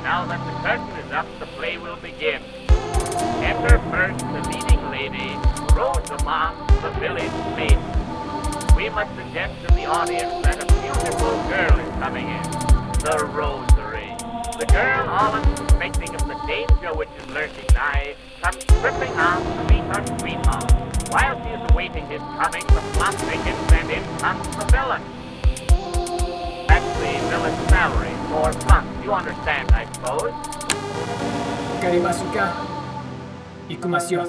Now that the curtain is up, the play will begin. Enter first the leading lady, Rosamond, the village maiden. We must suggest to the audience that a beautiful girl is coming in, the Rosary. The girl, all unsuspecting of the danger which is lurking nigh, comes tripping out to meet her sweetheart. While she is awaiting his coming, the plot thickens and in comes the villain. That's the villain's salary, or fun. You understand, I suppose? Garimasuka, Ikumasyo.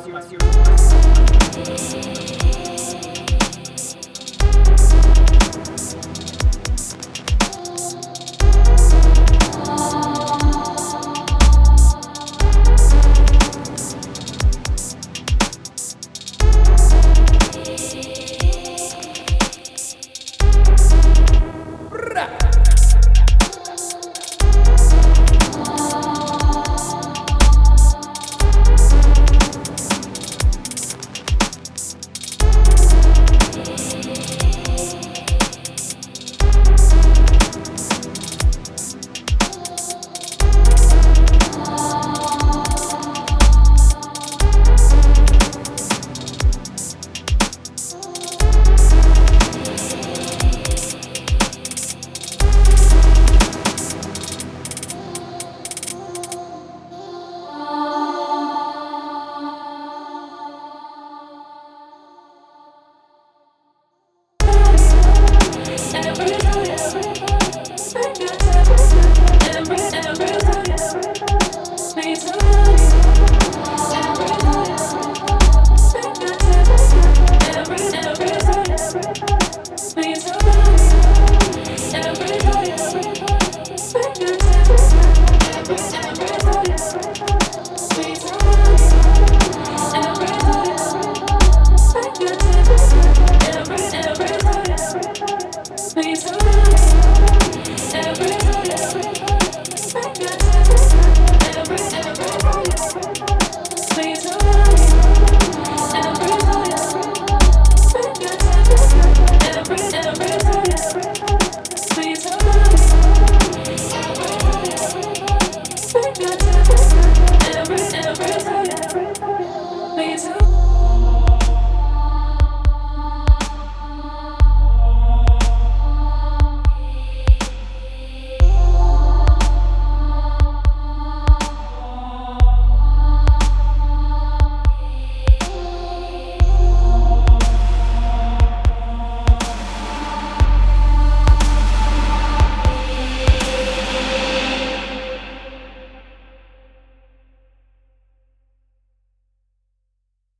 Please